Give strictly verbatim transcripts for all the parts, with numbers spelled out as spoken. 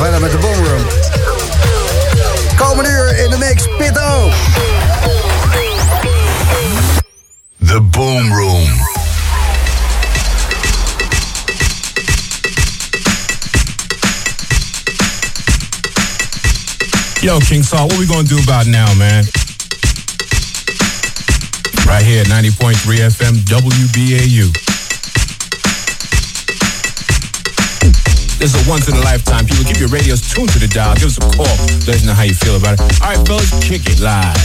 verder met de Boom Room. Komende uur in de mix, Pitto. The Boom Room. Yo, King Saul, what we gonna do about now, man? Right here at ninety point three F M W B A U. This is a once in a lifetime. People, keep your radios tuned to the dial. Give us a call. Let us know how you feel about it. All right, fellas, kick it live.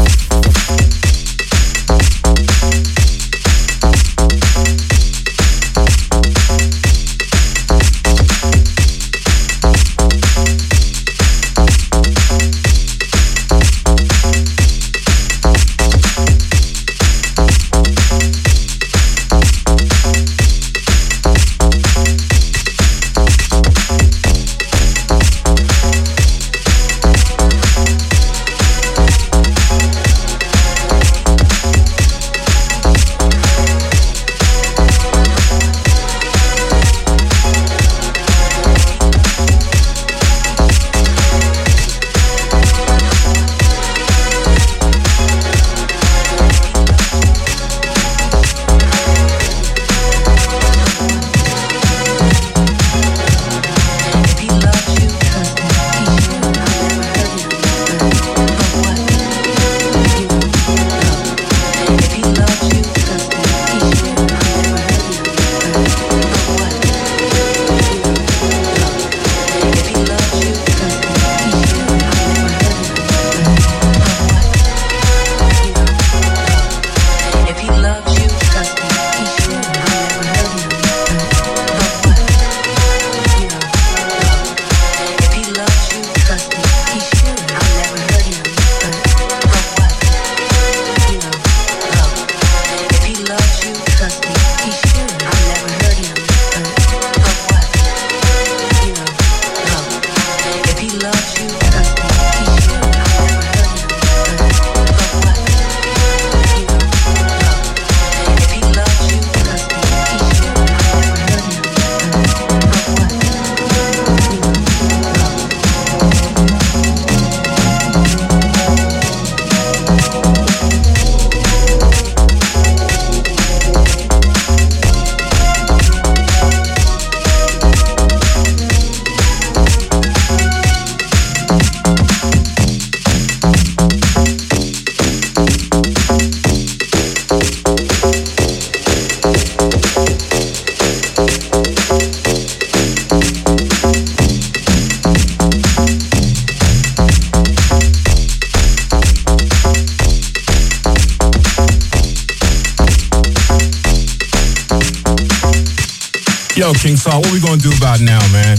Yo, King Saul, what we gonna do about now, man?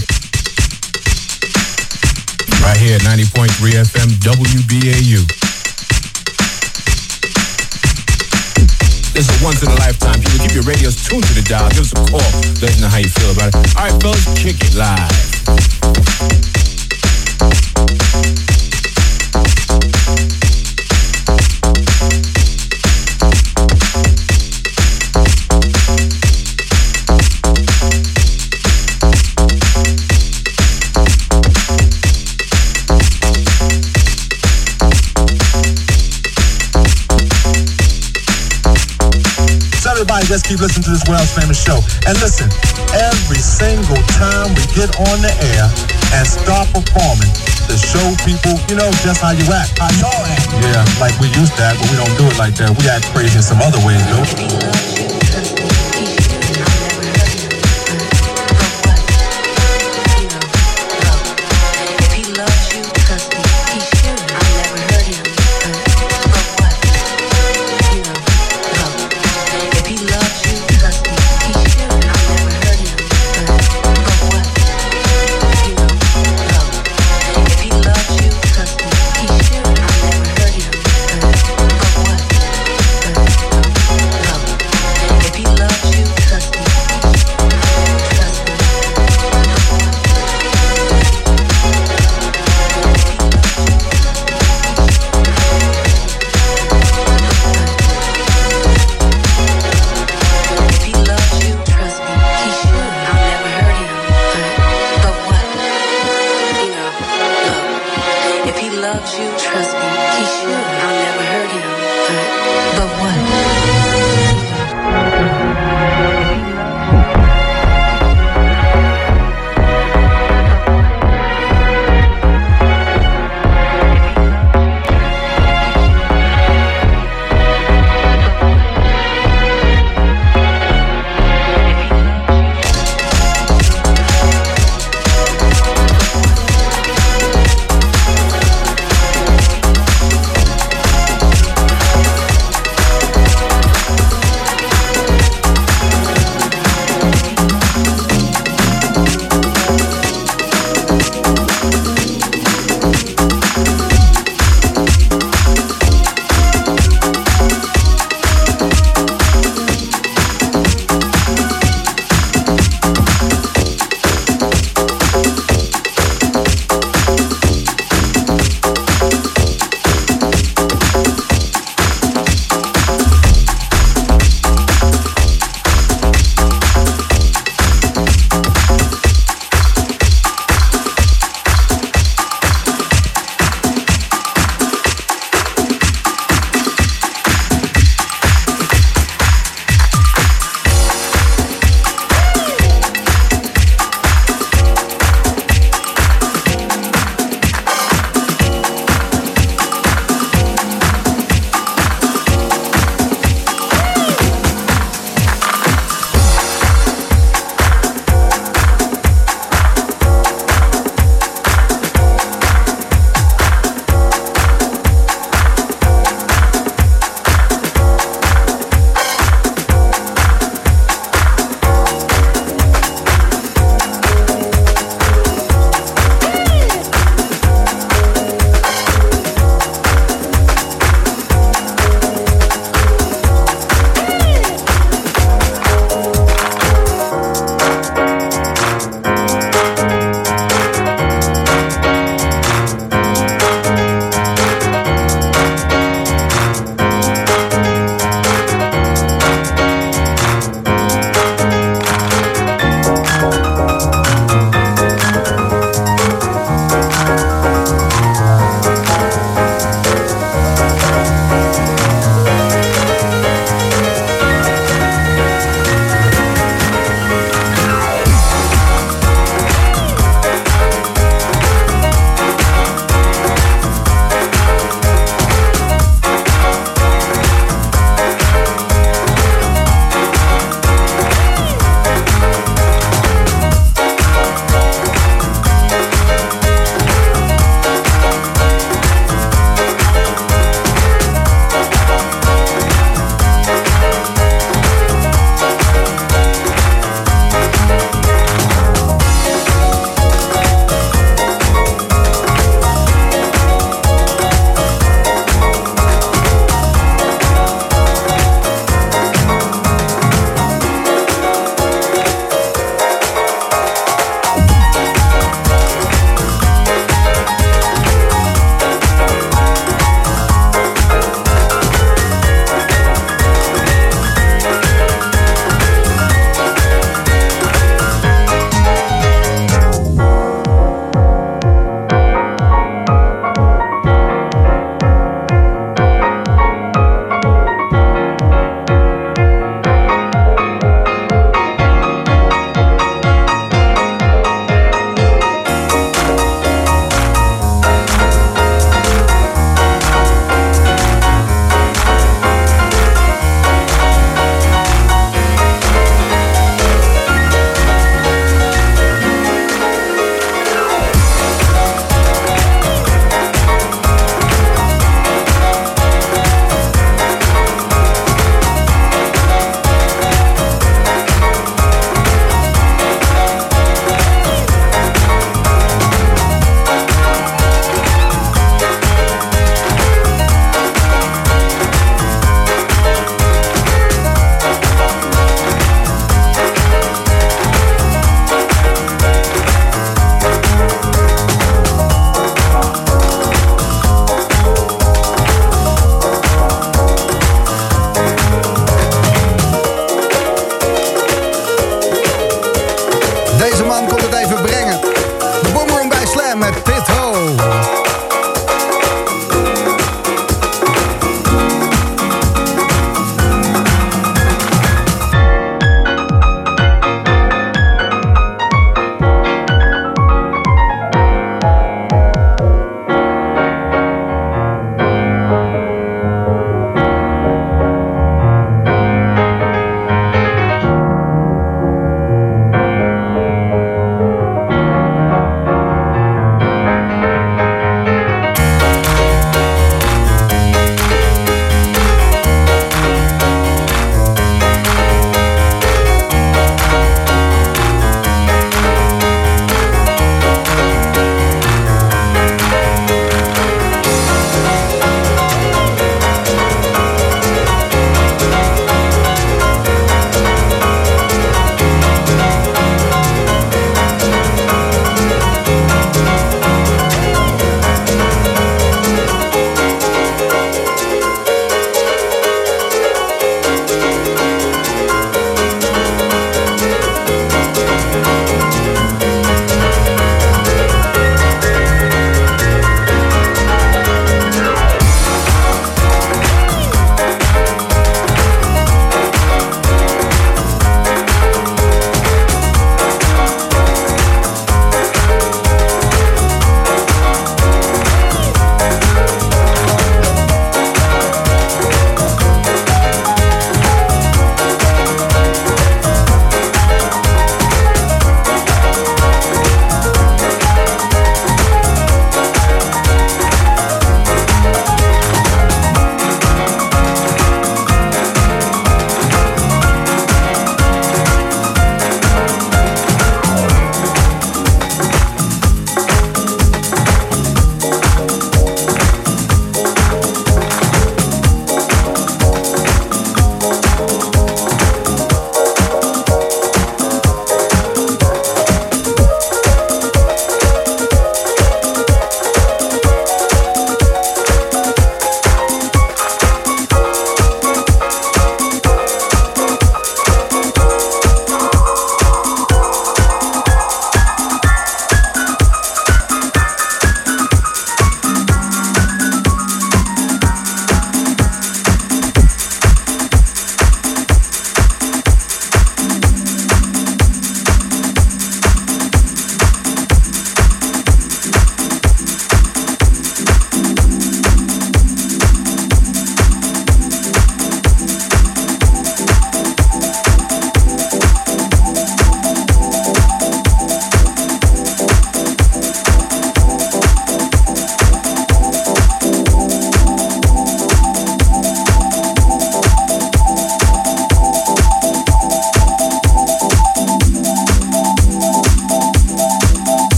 Right here at ninety point three F M W B A U. This is a once in a lifetime. People, keep your radios tuned to the dial. Give us a call. Let us know how you feel about it. All right, fellas, kick it live. Everybody just keep listening to this world's famous show. And listen, every single time we get on the air and start performing, to show people, you know, just how you act. How y'all act. Yeah, like we used to act, but we don't do it like that. We act crazy in some other ways, though.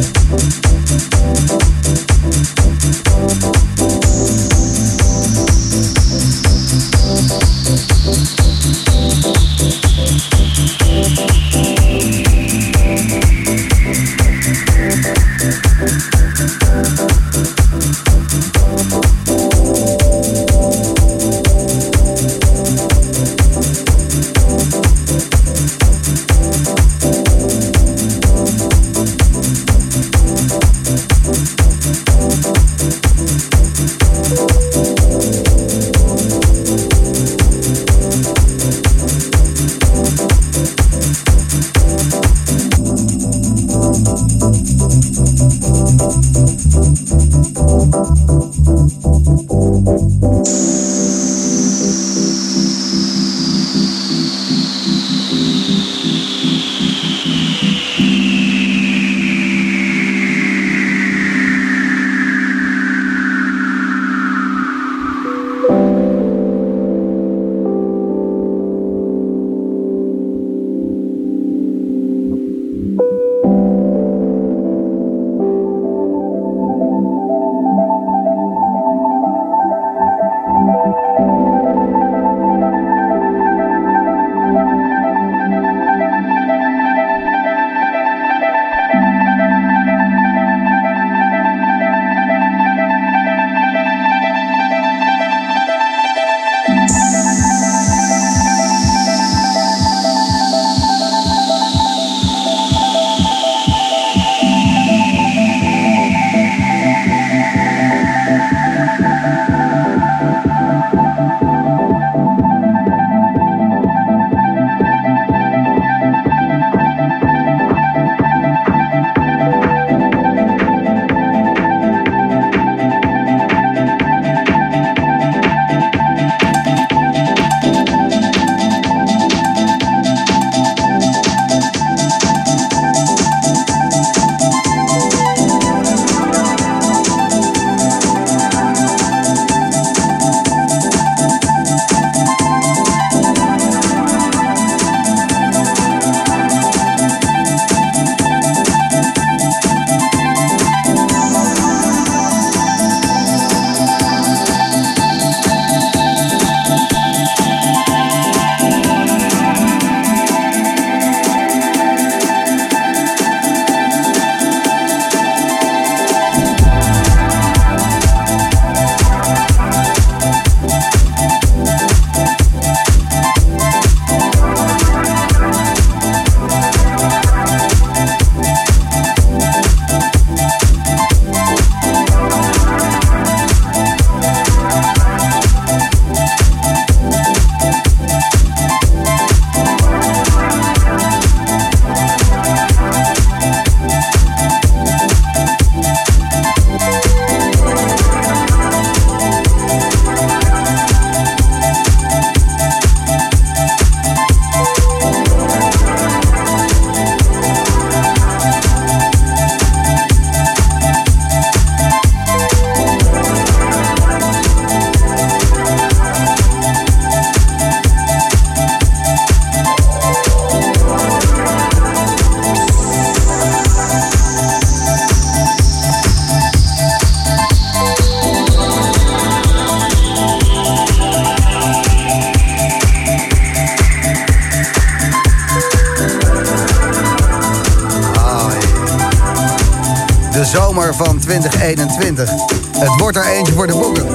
zomer van twintig eenentwintig. Het wordt er eentje voor de boeken.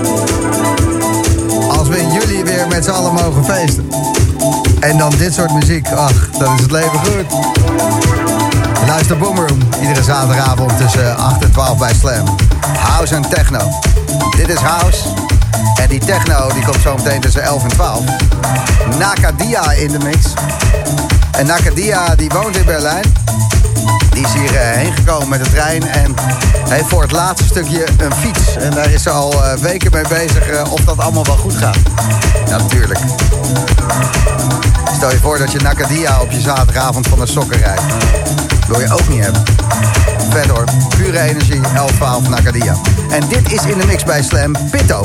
Als we in juli weer met z'n allen mogen feesten. En dan dit soort muziek, ach, dan is het leven goed. Luister Boomroom, iedere zaterdagavond tussen acht en twaalf bij Slam. House en techno. Dit is House. En die techno die komt zo meteen tussen elf en twaalf. Nakadia in de mix. En Nakadia die woont in Berlijn. Die is hierheen uh, gekomen met de trein en heeft voor het laatste stukje een fiets. En daar is ze al uh, weken mee bezig uh, of dat allemaal wel goed gaat. Ja, natuurlijk. Stel je voor dat je Nakadia op je zaterdagavond van de sokken rijdt. Wil je ook niet hebben. Vet hoor. Pure energie, elf twaalf Nakadia. En dit is in de mix bij Slam, Pitto.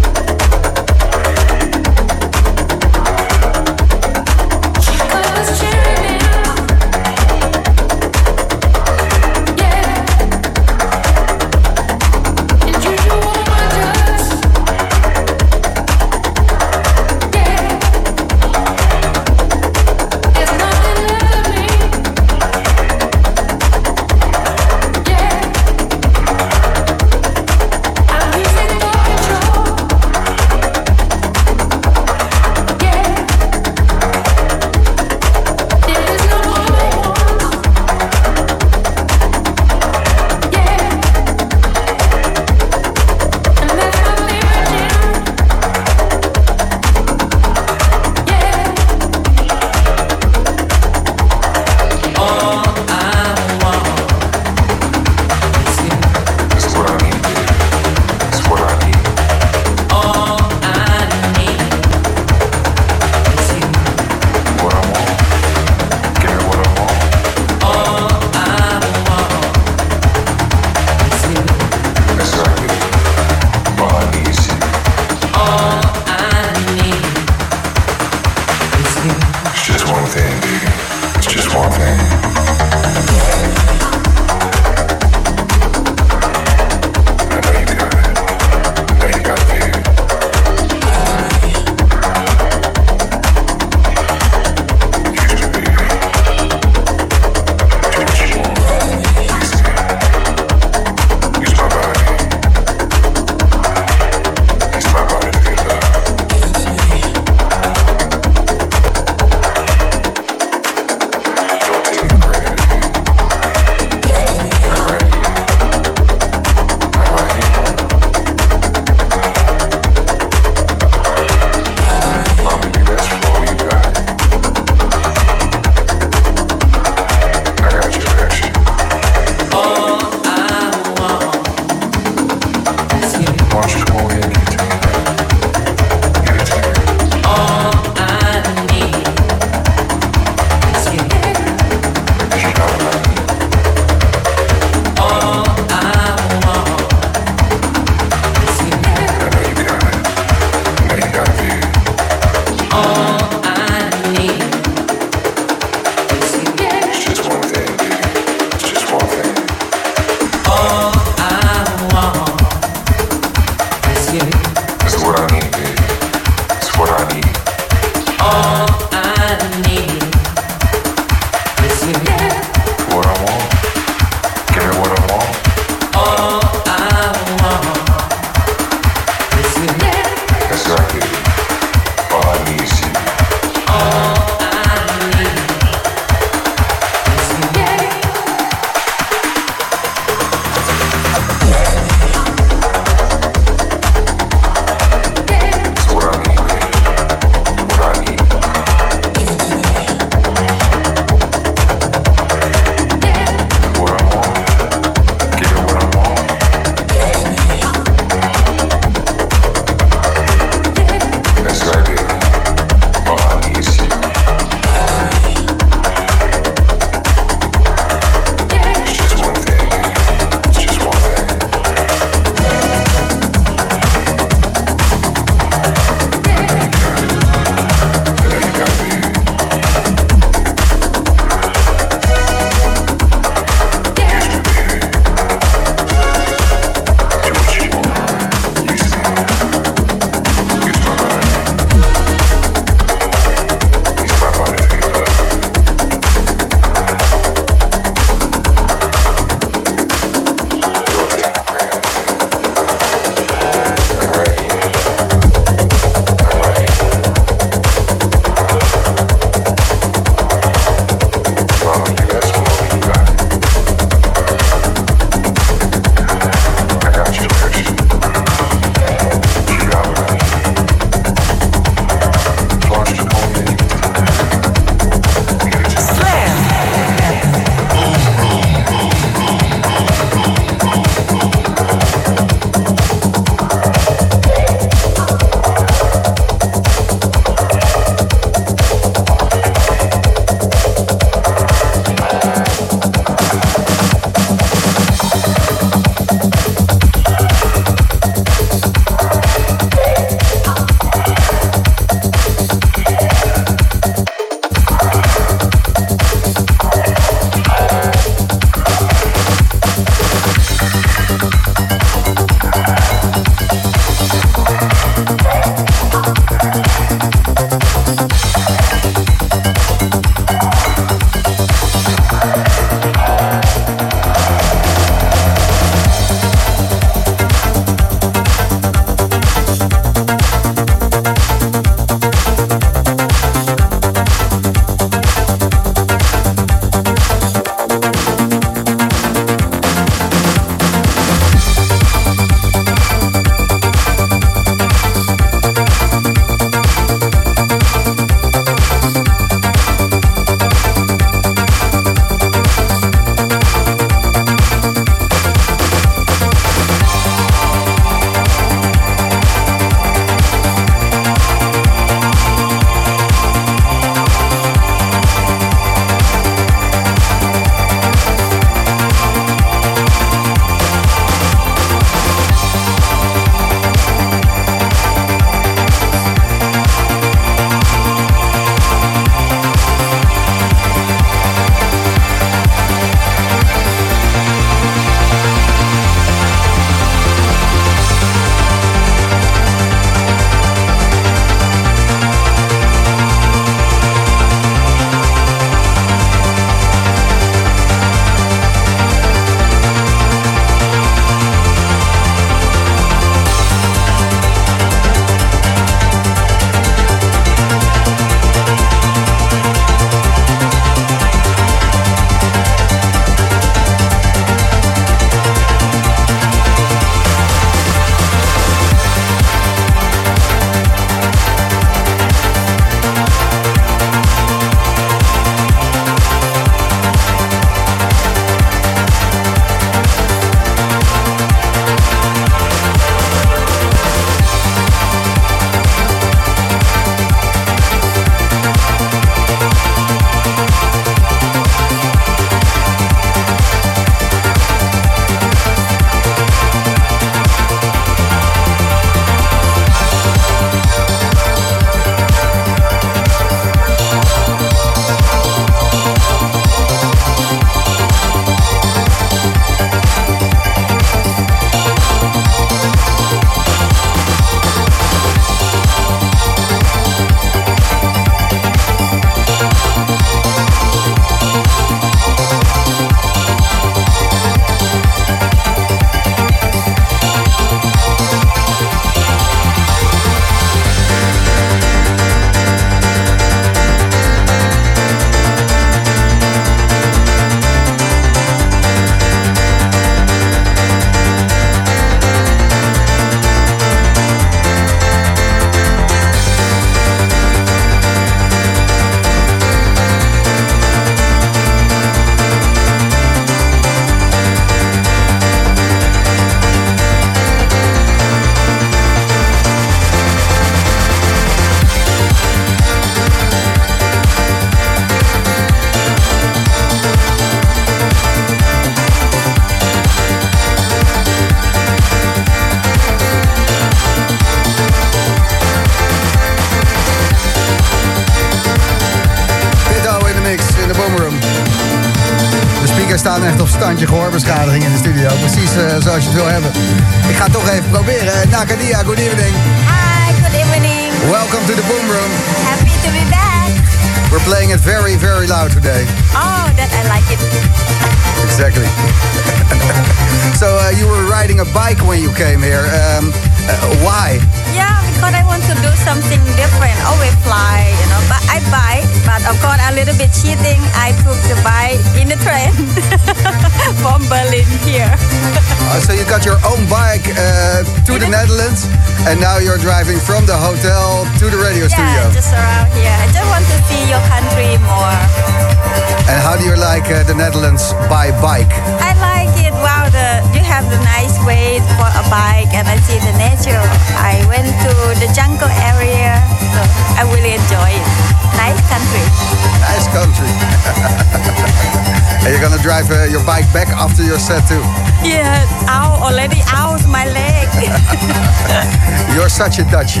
staan echt op standje gehoorbeschadiging in de studio. Precies uh, zoals je het wil hebben. Ik ga het toch even proberen. Nakadia, good evening. Hi, good evening. Welcome to the Boom Room. Happy to be back. We're playing it very, very loud today. Oh, that I like it. Exactly. So uh, you were riding a bike when you came here. Um, uh, why? Yeah, because I want to do something different. Always fly, you know. But I bike, but of course a little bit cheating. I took the bike in the train from Berlin here. uh, so you got your own bike uh, to in the Netherlands, and now you're driving from the hotel to the radio yeah, studio. Yeah, just around here. I just want to see your country more. And how do you like uh, the Netherlands by bike? I like it. Wow, the, you have the nice way for a bike, and I see the nature. I went to the jungle area, so I really enjoy it. Nice country. Nice country. And you're gonna drive uh, your bike back after your set too? Yeah, ow, already out my leg. You're such a Dutchie.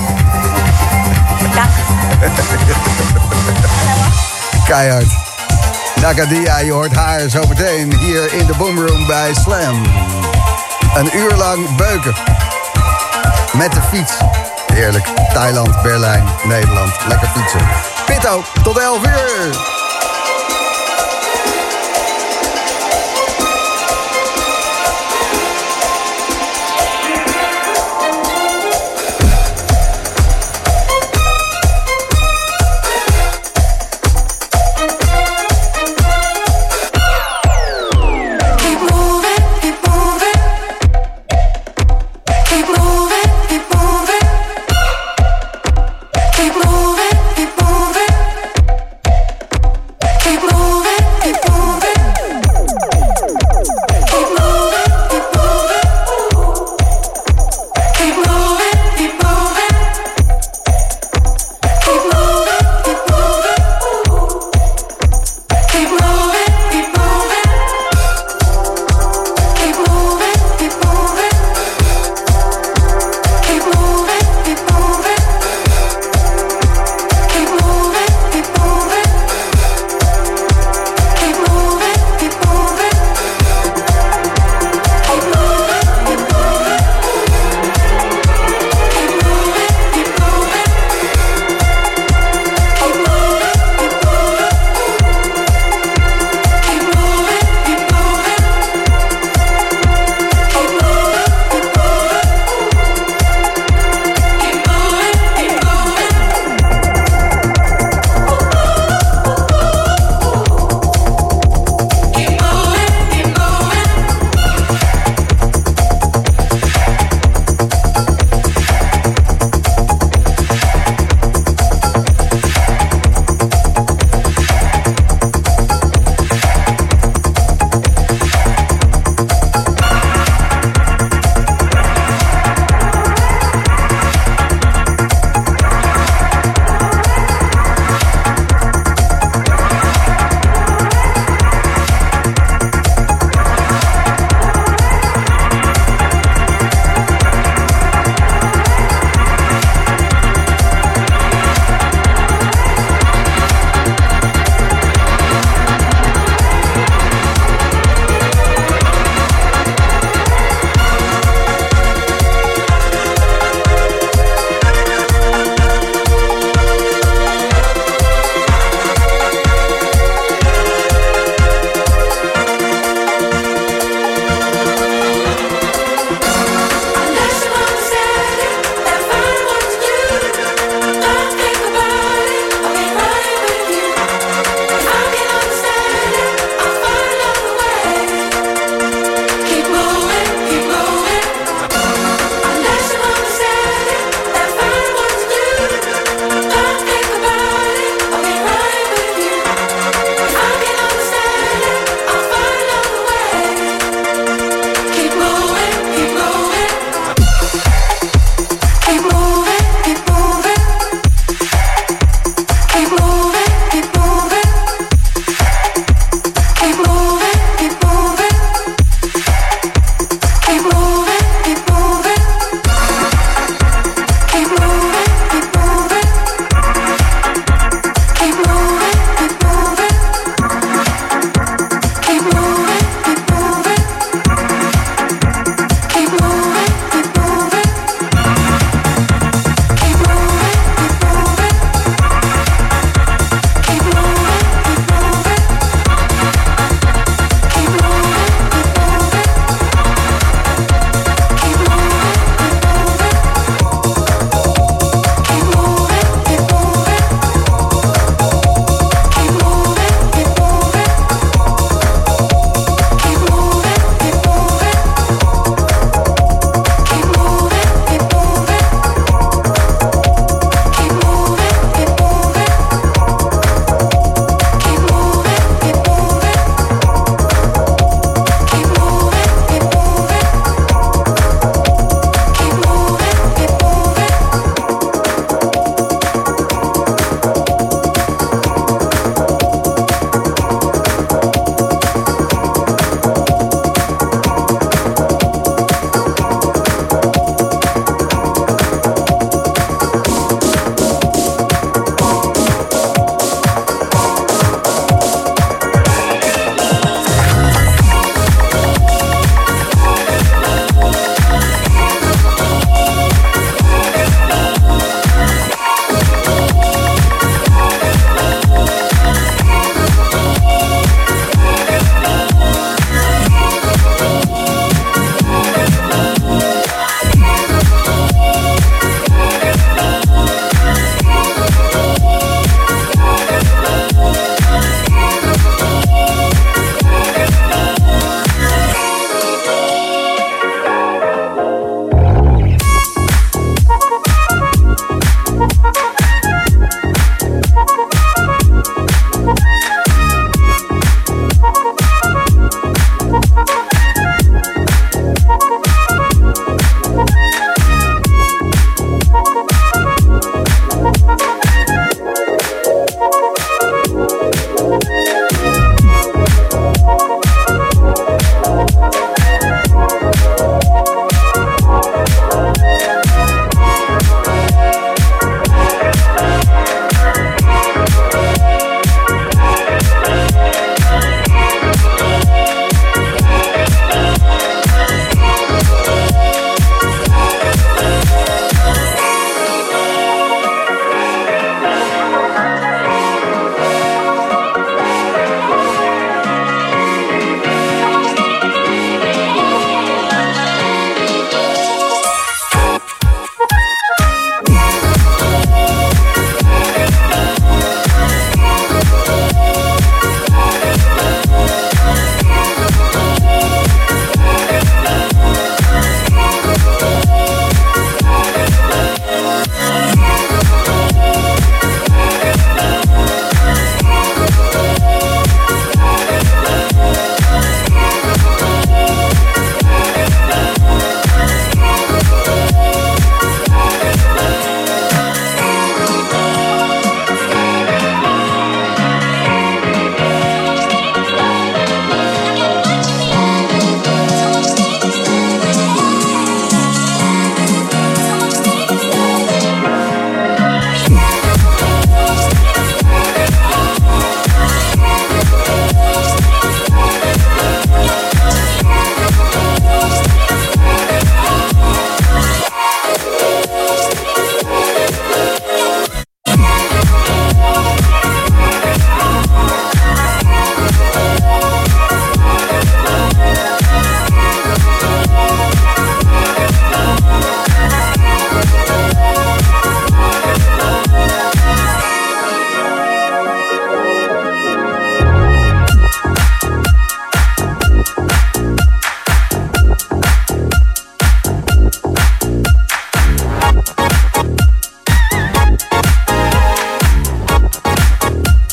Keihard. Nakadia, je hoort haar zometeen hier in de Boomroom bij Slam. Een uur lang beuken. Met de fiets. Heerlijk. Thailand, Berlijn, Nederland. Lekker fietsen. Pitto, tot elf uur. Keep moving, keep moving.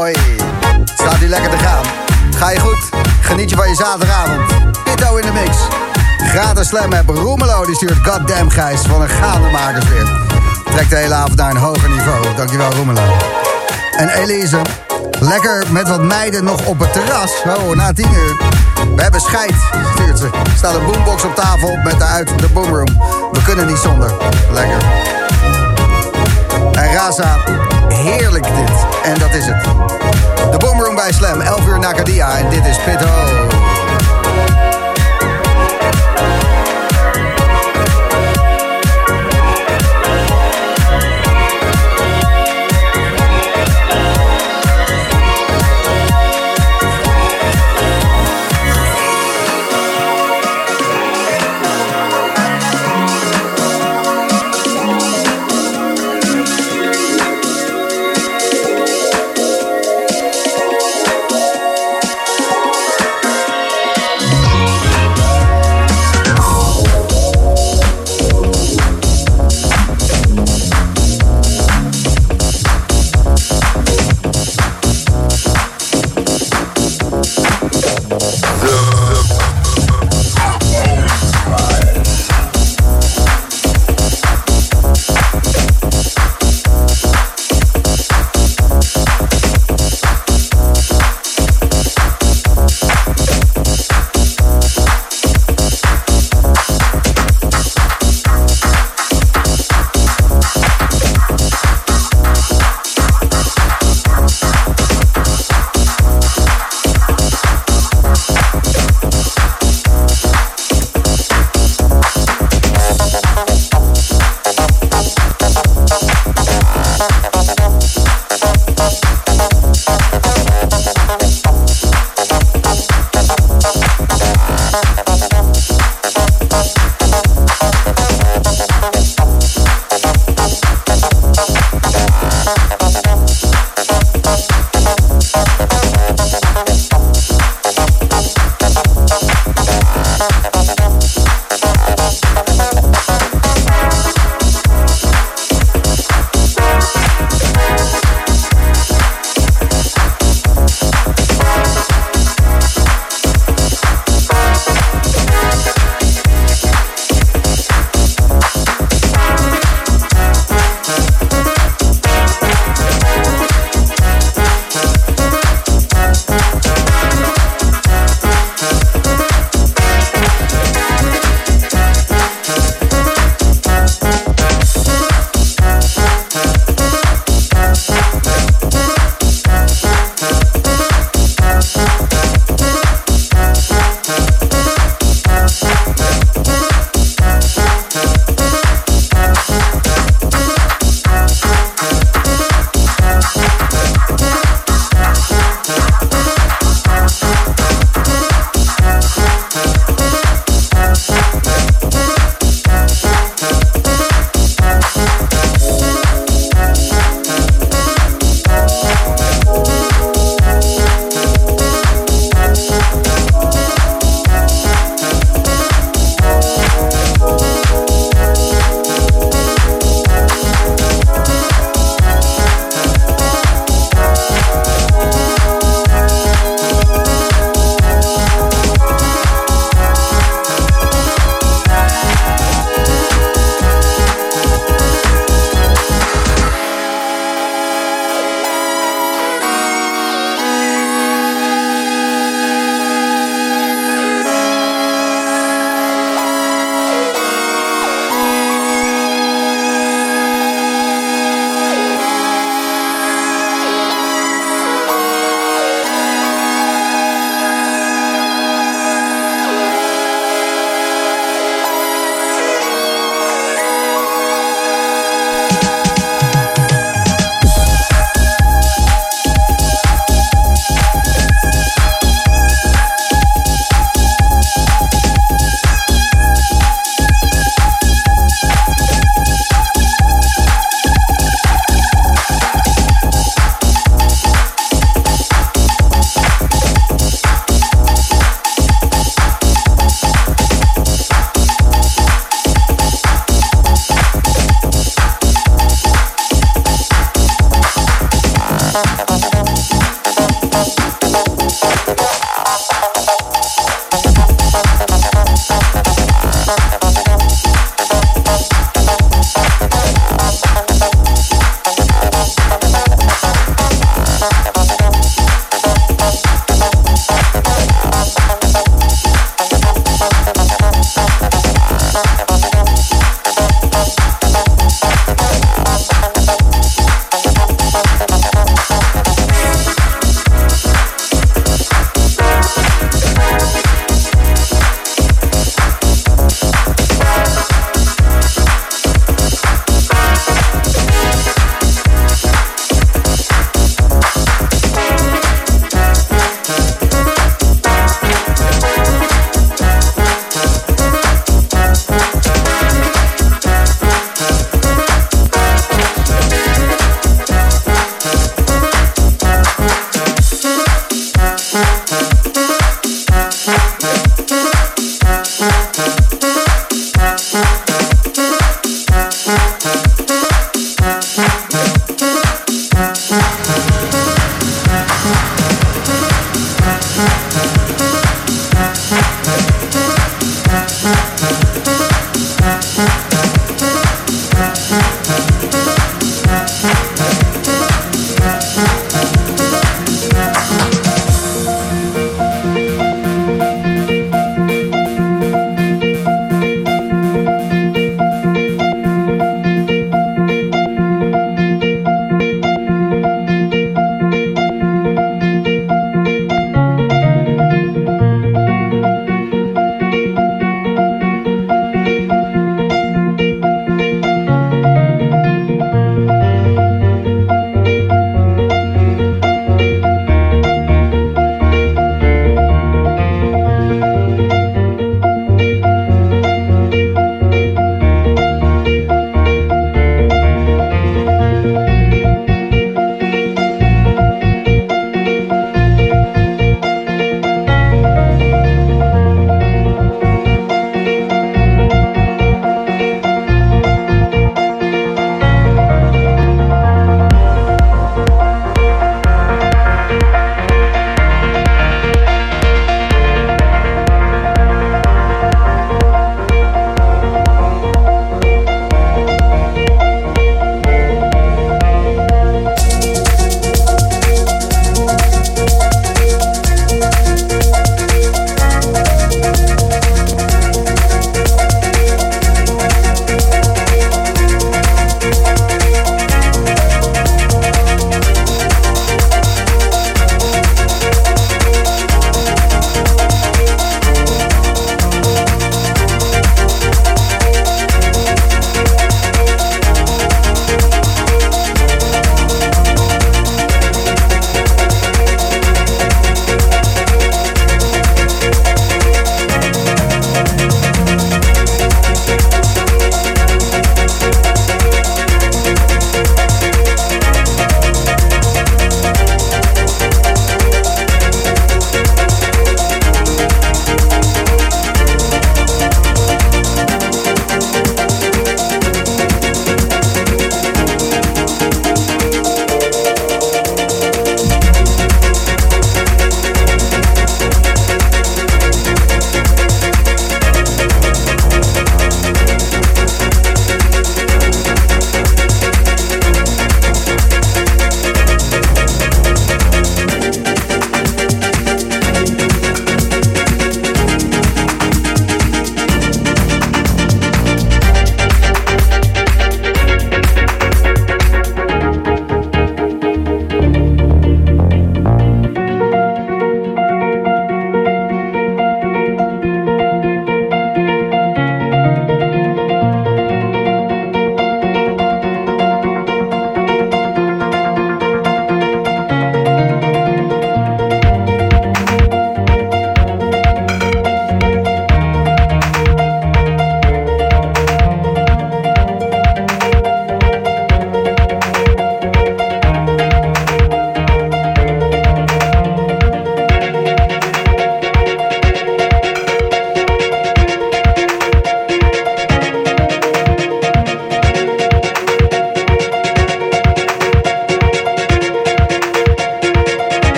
Hoi, staat hier lekker te gaan. Ga je goed? Geniet je van je zaterdagavond. Pitto in de mix. Gratis Slam app. Roemelo die stuurt Goddamn Gijs van een gaandemakers weer. Trekt de hele avond naar een hoger niveau. Dankjewel Roemelo. En Elise, lekker met wat meiden nog op het terras. Oh, na tien uur. We hebben scheid, stuurt ze. Er staat een boombox op tafel met daaruit de boomroom. We kunnen niet zonder. Lekker. En Raza, heerlijk dit. En dat is het. De boomroom bij Slam, elf uur Nakadia. En dit is Pitto.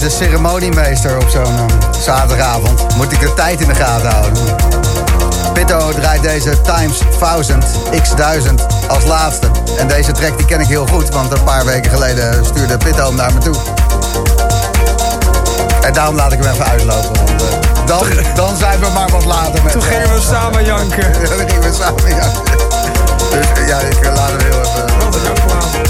de ceremoniemeester op zo'n uh, zaterdagavond. Moet ik de tijd in de gaten houden. Pitto draait deze Times duizend, x duizend als laatste. En deze track die ken ik heel goed, want een paar weken geleden stuurde Pitto hem naar me toe. En daarom laat ik hem even uitlopen. Want uh, dan, dan zijn we maar wat later met... Toen gingen we samen janken. Ja, dan gingen we samen janken. Dus ja, ik laat hem heel even... Wat een applaus.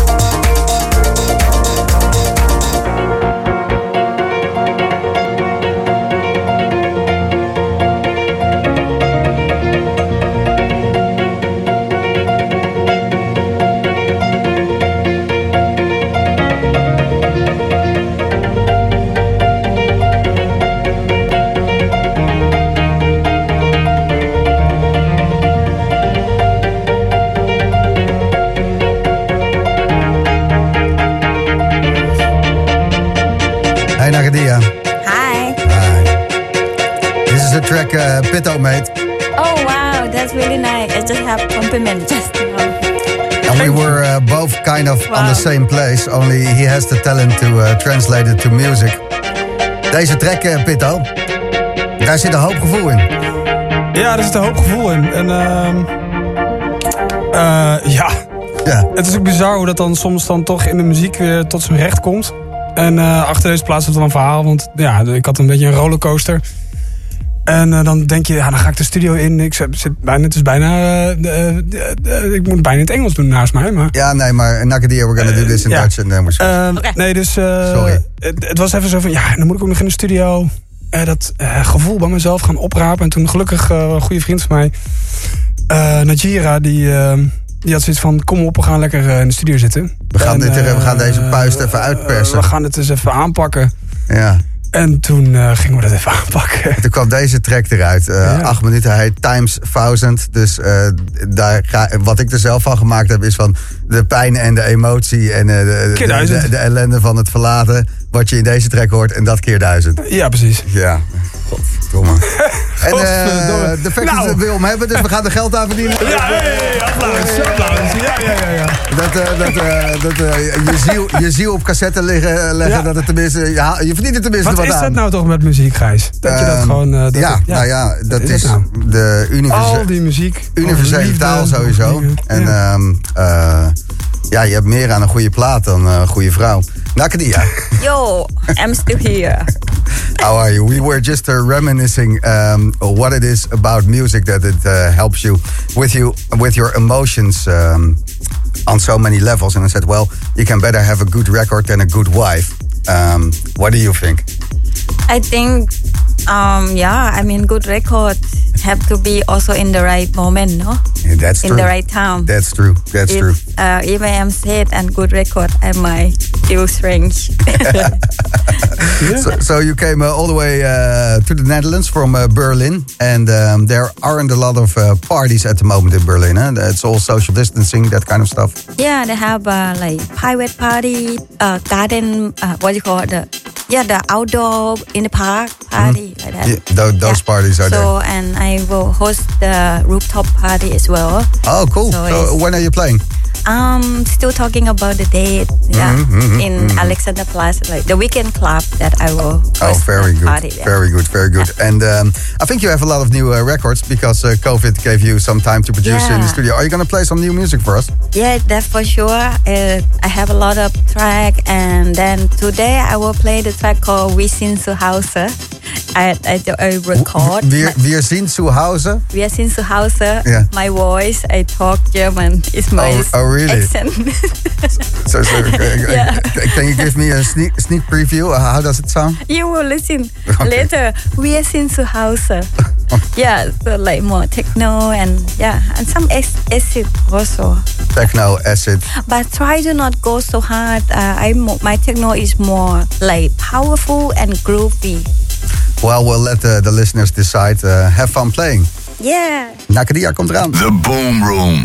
Hey Nagadia. Hi. Hi. This is a track uh, Pitto made. Oh wow, that's really nice. I just have compliment just now. And we were uh, both kind of Wow. on the same place. Only he has the talent to uh, translate it to music. Deze track, uh, Pitto, daar zit een hoop gevoel in. Ja, er zit een hoop gevoel in. En ehm uh, ja, Ja. het is ook bizar hoe dat dan soms dan toch in de muziek weer tot zijn recht komt. En uh, achter deze plaats zit dan een verhaal. Want ja, ik had een beetje een rollercoaster. En uh, dan denk je, ja, dan ga ik de studio in. Ik zit zit bijna, het is bijna, uh, uh, uh, uh, ik moet bijna in het Engels doen naast mij. Maar, Ja, nee, maar Nagadia, we're gonna do this in ja. Dutch and then we're uh, Oké. Nee, dus uh, Sorry. Het, het was even zo van, ja, dan moet ik ook nog in de studio uh, dat uh, gevoel bij mezelf gaan oprapen. En toen gelukkig uh, een goede vriend van mij, uh, Najira, die... Uh, Die had zoiets van, kom op, we gaan lekker uh, in de studio zitten. We gaan, En, dit, er- we gaan deze uh, puist even uitpersen. We gaan het eens even aanpakken. Ja. En toen uh, gingen we dat even aanpakken. Toen kwam deze track eruit. Uh, Ja. Acht minuten, hij heet Times duizend. Dus uh, daar ga, wat ik er zelf van gemaakt heb, is van de pijn en de emotie en uh, de, Keer de, duizend. de, de ellende van het verlaten. Wat je in deze track hoort en dat keer duizend. Ja, precies. Ja, godverdomme. En uh, Godverdomme. de fact Nou. is dat we hem hebben, dus we gaan er geld aan verdienen. Ja, hey, hey, applaus, applaus. Ja, ja, ja, ja. Dat, uh, dat, uh, dat uh, je, ziel, je ziel op cassette liggen, leggen, Ja. dat het tenminste, ja, je verdient er tenminste Wat wat, is aan. dat nou toch met muziek, Gijs? Dat je dat Ehm, gewoon... Uh, dat ja, het- nou ja, dat Wat is, het nou? de universe- Al die muziek. universele over liefde, taal sowieso. over dingen. En Ja. ehm, uh, ja, je hebt meer aan een goede plaat dan een goede vrouw. Nakadia, Yo, I'm still here. how are you? We were just uh, reminiscing um, what it is about music that it uh, helps you with you with your emotions um, on so many levels. And I said, well, you can better have a good record than a good wife. Um, what do you think? I think, um, yeah, I mean, good record have to be also in the right moment, no? Yeah, that's in true. the right time. That's true. That's if, true. Uh, if I am sad and good record, I might feel strange. So, so you came uh, all the way uh, to the Netherlands from uh, Berlin, and um, there aren't a lot of uh, parties at the moment in Berlin. Huh? It's all social distancing, that kind of stuff. Yeah, they have uh, like private party, uh, garden, uh, what do you call it? The, yeah, the outdoor in the park party like that. Yeah, tho- those parties are so, and I will host the rooftop party as well. there. Oh, cool. so So, it's- when are you playing? Um, still talking about the date. Yeah, Mhm, mhm, in mhm. Alexanderplatz, like the weekend club that I will host. Oh, very the good. Party, yeah. Very good, very good. And um, I think you have a lot of new uh, records because uh, COVID gave you some time to produce in the Yeah. studio. Are you going to play some new music for us? Yeah, that's for sure. Uh, I have a lot of track, and then today I will play the track called We Sind zu Hause. I, I, I record. Wir, my- wir sind zu Hause. Wir sind zu Hause. Yeah. My voice, I talk German. It's my Oh, oh, really? accent. So, so, uh, Yeah. Can you give me a sneak, sneak preview? Uh, how does it sound? You will listen Okay. later. Wir sind zu Hause. Yeah, so like more techno and yeah, and some ac- acid also. Techno, acid. But try to not go so hard. Uh, I mo- my techno is more like powerful and groovy. Well, we'll let the, the listeners decide. Uh, have fun playing. Yeah. Nakadia komt eraan. The Boom Room.